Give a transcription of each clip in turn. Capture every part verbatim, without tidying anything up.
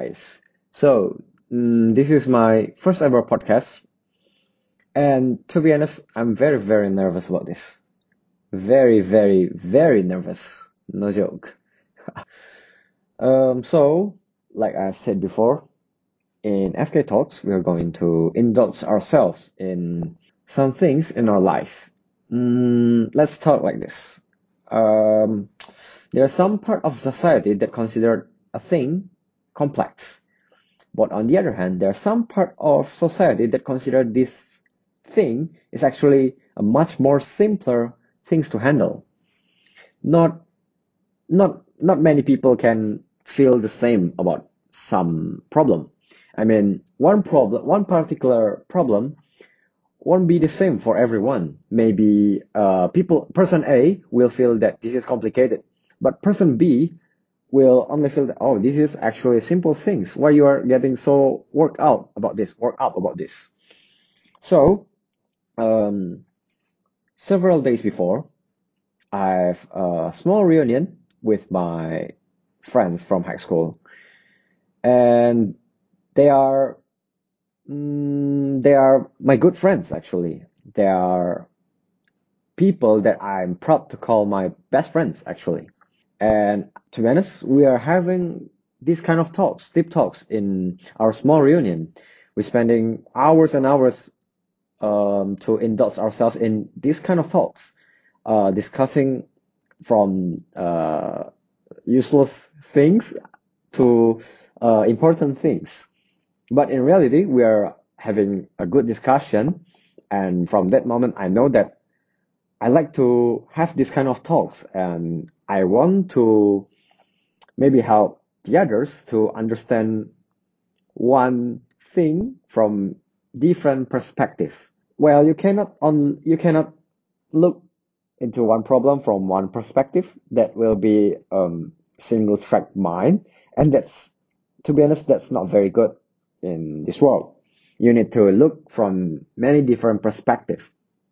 guys. So, mm, this is my first ever podcast, and to be honest, I'm very, very nervous about this. Very, very, very nervous. No joke. Um, so, like I said before, in F K Talks, we are going to indulge ourselves in some things in our life. Mm, let's talk like this. Um, there are some part of society that consider a thing complex. But on the other hand, there are some part of society that consider this thing is actually a much more simpler things to handle. Not not not many people can feel the same about some problem. I mean, one problem, one particular problem won't be the same for everyone. Maybe uh, people, person A will feel that this is complicated, but person B will only feel that, oh, this is actually simple things. Why you are getting so worked out about this, worked up about this? So, um, several days before, I have a small reunion with my friends from high school, and they are mm, they are my good friends actually. They are people that I'm proud to call my best friends actually. And to be honest, we are having these kind of talks, deep talks in our small reunion. We're spending hours and hours um, to indulge ourselves in these kind of talks, uh, discussing from uh, useless things to uh, important things. But in reality, we are having a good discussion. And from that moment, I know that I like to have this kind of talks and I want to maybe help the others to understand one thing from different perspective. Well, you cannot on you cannot look into one problem from one perspective. That will be um single track mind, and that's to be honest, that's not very good in this world. You need to look from many different perspectives.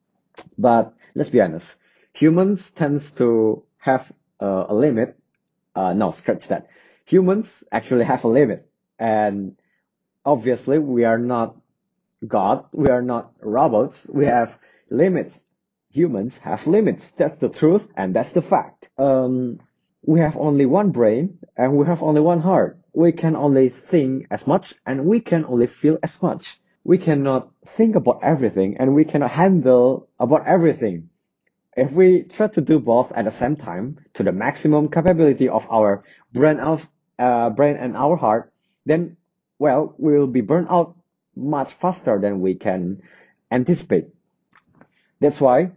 But let's be honest, humans tends to have uh, a limit. Uh, no, scratch that. Humans actually have a limit, and obviously we are not God. We are not robots. We have limits. Humans have limits. That's the truth, and that's the fact. Um, we have only one brain, and we have only one heart. We can only think as much, and we can only feel as much. We cannot think about everything, and we cannot handle about everything. If we try to do both at the same time to the maximum capability of our brain of uh, brain and our heart, then well, we will be burned out much faster than we can anticipate. That's why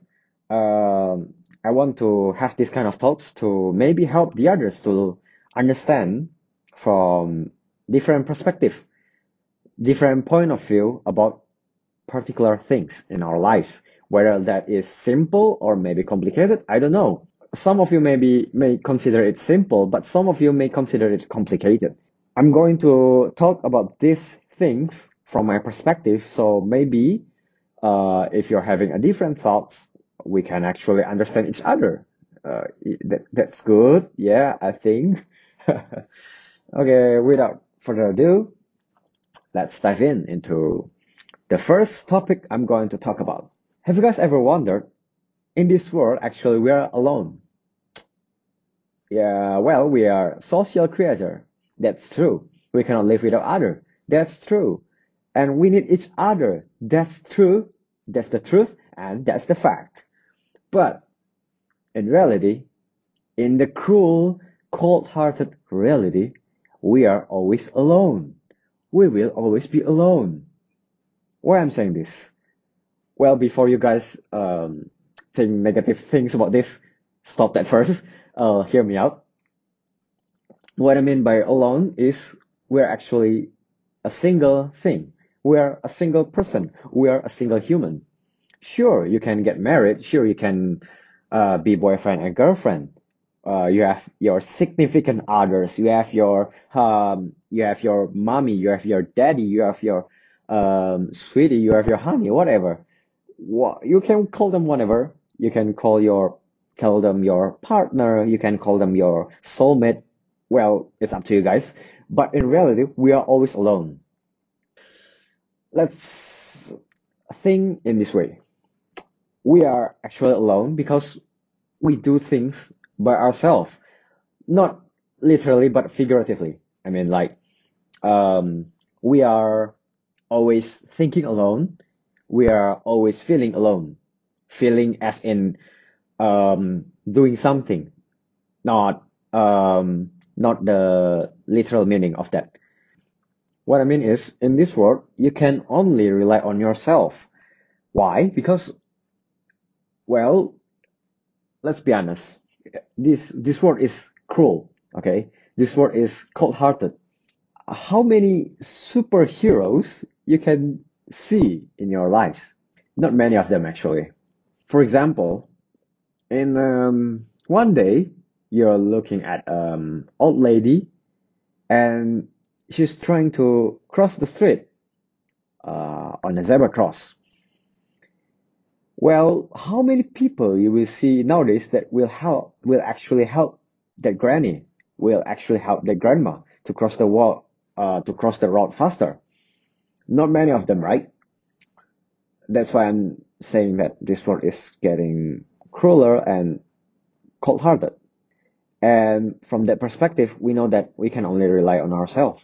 um, I want to have this kind of talks to maybe help the others to understand from different perspective, different point of view about particular things in our lives. Whether that is simple or maybe complicated, I don't know. Some of you maybe may consider it simple, but some of you may consider it complicated. I'm going to talk about these things from my perspective, so maybe uh, if you're having a different thoughts, we can actually understand each other. Uh, that, that's good, yeah, I think. Okay, without further ado, let's dive in into the first topic I'm going to talk about. Have you guys ever wondered, in this world, actually, we are alone? Yeah, well, we are social creature. That's true. We cannot live without other. That's true. And we need each other. That's true. That's the truth, and that's the fact. But in reality, in the cruel, cold-hearted reality, we are always alone. We will always be alone. Why I'm saying this? Well, before you guys um, think negative things about this, stop that first. Uh, hear me out. What I mean by alone is we're actually a single thing. We are a single person. We are a single human. Sure, you can get married. Sure, you can uh, be boyfriend and girlfriend. Uh, you have your significant others. You have your um, you have your mommy. You have your daddy. You have your um, sweetie. You have your honey. Whatever. What you can call them whatever. You can call your call them your partner. You can call them your soulmate. Well, it's up to you guys. But in reality, we are always alone. Let's think in this way. We are actually alone because we do things by ourselves, not literally, but figuratively. I mean, like, um, we are always thinking alone. We are always feeling alone. Feeling as in um, doing something, not um, not the literal meaning of that. What I mean is, in this world, you can only rely on yourself. Why? Because, well, let's be honest. This this world is cruel. Okay, this world is cold-hearted. How many superheroes you can see in your lives? Not many of them, actually. For example, in um, one day, you're looking at um old lady and she's trying to cross the street uh, on a zebra cross. Well, how many people you will see nowadays that will help, will actually help that granny, will actually help that grandma to cross the wall, uh, to cross the road faster? Not many of them, right? That's why I'm saying that this world is getting crueler and cold-hearted. And from that perspective, we know that we can only rely on ourselves.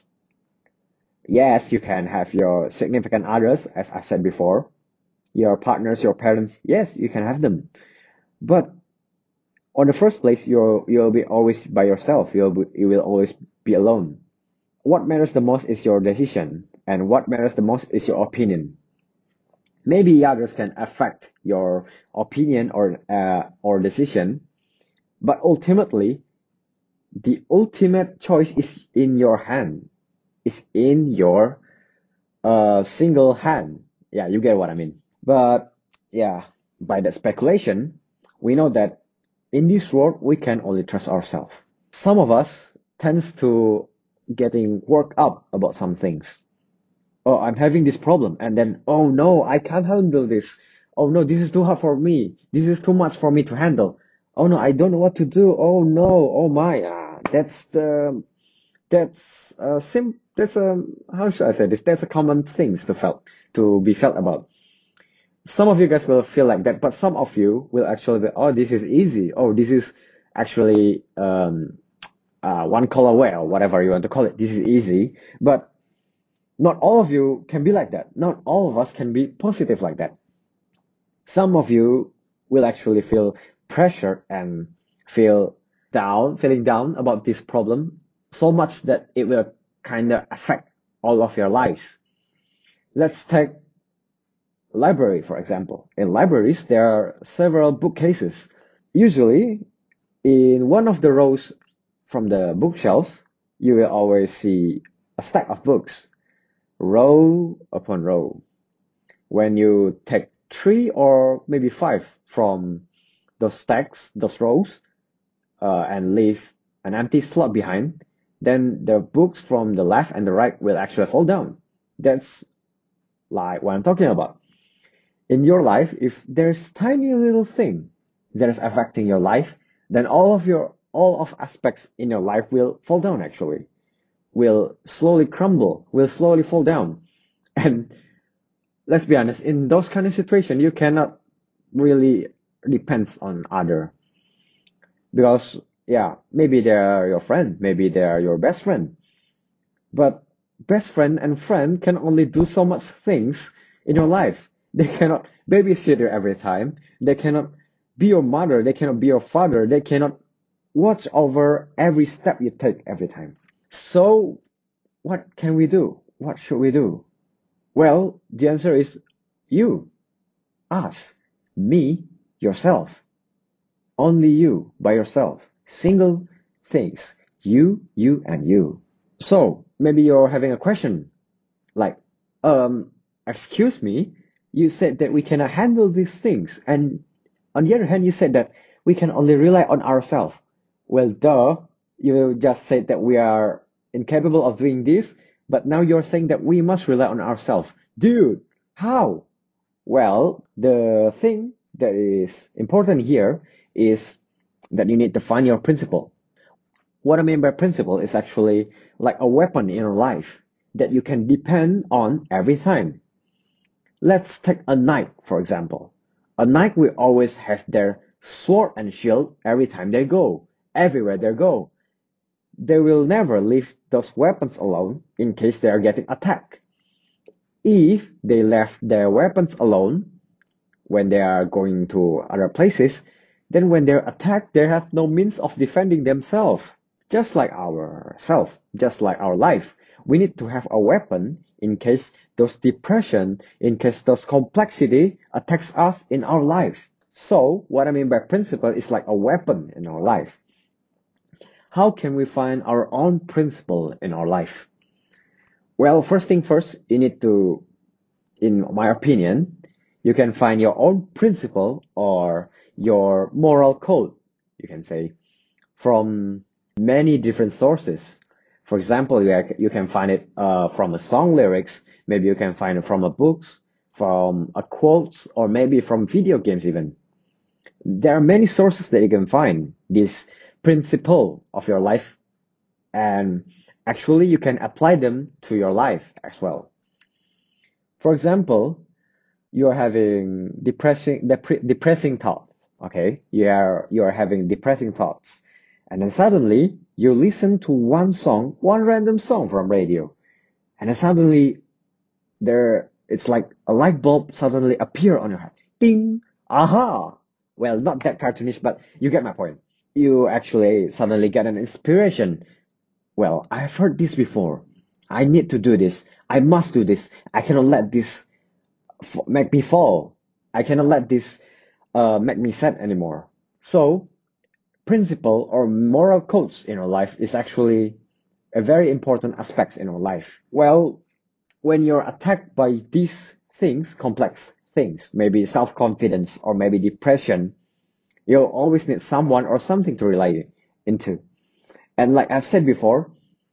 Yes, you can have your significant others, as I've said before, your partners, your parents. Yes, you can have them. But on the first place, you're you'll be always by yourself. You'll be, you will always be alone. What matters the most is your decision, and what matters the most is your opinion. Maybe others can affect your opinion or uh, or decision, but ultimately, the ultimate choice is in your hand. Is in your uh single hand. Yeah, you get what I mean. But yeah, by that speculation, we know that in this world we can only trust ourselves. Some of us tends to getting worked up about some things. Oh, I'm having this problem, and then oh no, I can't handle this. Oh no, this is too hard for me. This is too much for me to handle. Oh no, I don't know what to do. Oh no, oh my. Ah, that's the that's uh sim that's a how should I say this? That's a common things to felt to be felt about. Some of you guys will feel like that, but some of you will actually be, oh, this is easy. Oh, this is actually um, uh, one color away or whatever you want to call it. This is easy, but not all of you can be like that. Not all of us can be positive like that. Some of you will actually feel pressured and feel down, feeling down about this problem so much that it will kind of affect all of your lives. Let's take library, for example. In libraries, there are several bookcases. Usually, in one of the rows from the bookshelves, you will always see a stack of books, row upon row. When you take three or maybe five from those stacks, those rows, uh, and leave an empty slot behind, then the books from the left and the right will actually fall down. That's like what I'm talking about. In your life, if there's tiny little thing that is affecting your life, then all of your all of aspects in your life will fall down actually, will slowly crumble, will slowly fall down. And let's be honest, in those kind of situation, you cannot really depends on other because yeah, maybe they are your friend, maybe they are your best friend, but best friend and friend can only do so much things in your life. They cannot babysit you every time. They cannot be your mother. They cannot be your father. They cannot watch over every step you take every time. So what can we do? What should we do? Well, the answer is you, us, me, yourself. Only you by yourself. Single things. You, you, and you. So maybe you're having a question like, um, excuse me, you said that we cannot handle these things. And on the other hand, you said that we can only rely on ourselves. Well, duh, you just said that we are incapable of doing this, but now you're saying that we must rely on ourselves. Dude, how? Well, the thing that is important here is that you need to find your principle. What I mean by principle is actually like a weapon in your life that you can depend on every time. Let's take a knight, for example. A knight will always have their sword and shield every time they go, everywhere they go. They will never leave those weapons alone in case they are getting attacked. If they left their weapons alone when they are going to other places, then when they're attacked, they have no means of defending themselves. Just like ourself, just like our life, we need to have a weapon in case those depression, in case those complexity attacks us in our life. So what I mean by principle is like a weapon in our life. How can we find our own principle in our life? Well, first thing first, you need to, in my opinion, you can find your own principle or your moral code, you can say, from many different sources. For example, you, you can find it uh, from a song lyrics, maybe you can find it from a books, from a quotes, or maybe from video games even. There are many sources that you can find this principle of your life, and actually you can apply them to your life as well. For example, you are having depressing depre- depressing thoughts. Okay, you are you are having depressing thoughts, and then suddenly you listen to one song, one random song from radio, and then suddenly there it's like a light bulb suddenly appear on your head. Ding! Aha! Well, not that cartoonish, but you get my point. You actually suddenly get an inspiration. Well, I've heard this before. I need to do this. I must do this. I cannot let this f- make me fall. I cannot let this uh, make me sad anymore. So, principle or moral codes in our life is actually a very important aspect in our life. Well, when you're attacked by these things, complex things, maybe self-confidence or maybe depression, you'll always need someone or something to rely into. And like I've said before,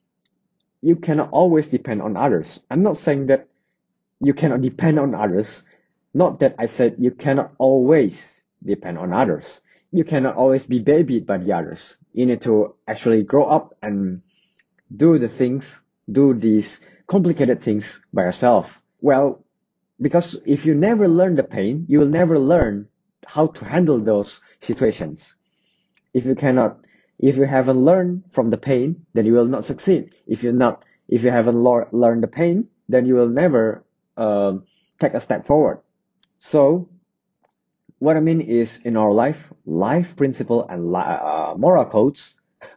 you cannot always depend on others. I'm not saying that you cannot depend on others. Not that I said you cannot always depend on others. You cannot always be babied by the others. You need to actually grow up and do the things, do these complicated things by yourself. Well, because if you never learn the pain, you will never learn how to handle those situations. If you cannot, if you haven't learned from the pain, then you will not succeed. If you're not, if you haven't lear- learned the pain, then you will never um, take a step forward. So what I mean is, in our life, life principle and li- uh, moral codes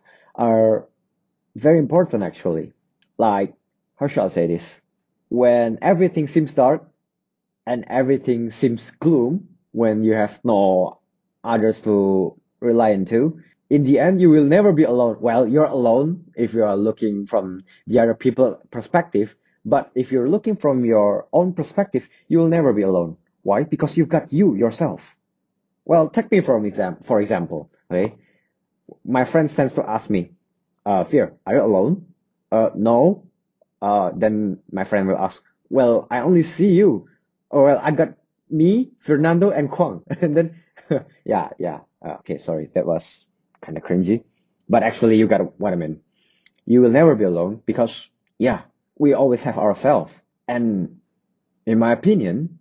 are very important actually. Like, how shall I say this? When everything seems dark and everything seems gloom, when you have no others to rely into, in the end, you will never be alone. Well, you're alone if you are looking from the other people perspective, but if you're looking from your own perspective, you will never be alone. Why? Because you've got you yourself. Well, take me for an example. For example, okay, my friends tends to ask me, uh, "Fear, are you alone?" Uh, no. Uh, then my friend will ask, "Well, I only see you." Oh, well, I got me, Fernando, and Kwang. And then, yeah, yeah. Uh, okay, sorry, that was kind of cringy. But actually, you got what I mean. You will never be alone because, yeah, we always have ourselves. And in my opinion,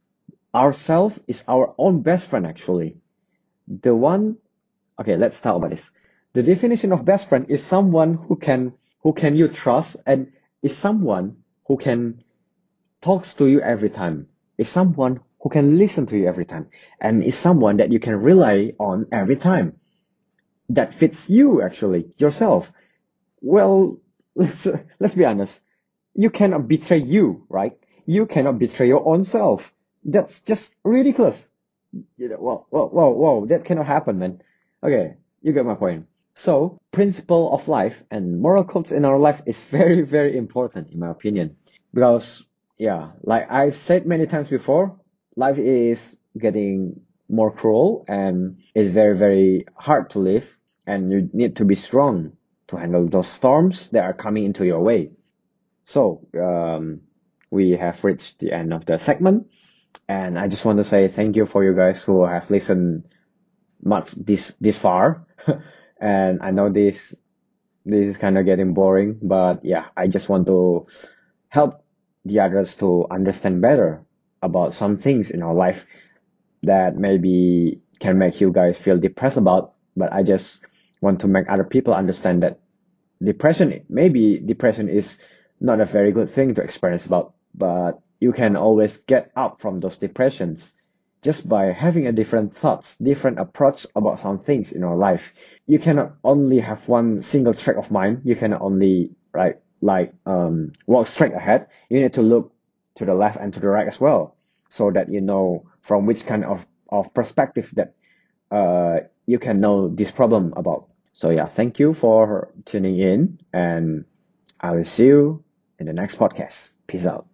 ourself is our own best friend, actually. The one, okay, let's talk about this. The definition of best friend is someone who can, who can you trust and is someone who can talks to you every time, is someone who can listen to you every time, and is someone that you can rely on every time, that fits you actually, yourself. Well, let's, let's be honest. You cannot betray you, right? You cannot betray your own self. That's just ridiculous. You know, whoa, whoa, whoa, whoa, that cannot happen, man. Okay, you get my point. So, principle of life and moral codes in our life is very, very important, in my opinion. Because, yeah, like I've said many times before, life is getting more cruel and is very, very hard to live. And you need to be strong to handle those storms that are coming into your way. So, um, we have reached the end of the segment. And I just want to say thank you for you guys who have listened much this this far. And I know this This is kind of getting boring, but yeah, I just want to help the others to understand better about some things in our life that maybe can make you guys feel depressed about. But I just want to make other people understand that depression, maybe depression is not a very good thing to experience about, but you can always get up from those depressions just by having a different thoughts, different approach about some things in our life. You cannot only have one single track of mind. You cannot only right like um walk straight ahead. You need to look to the left and to the right as well, so that you know from which kind of of perspective that uh you can know this problem about. So yeah, thank you for tuning in, and I will see you in the next podcast. Peace out.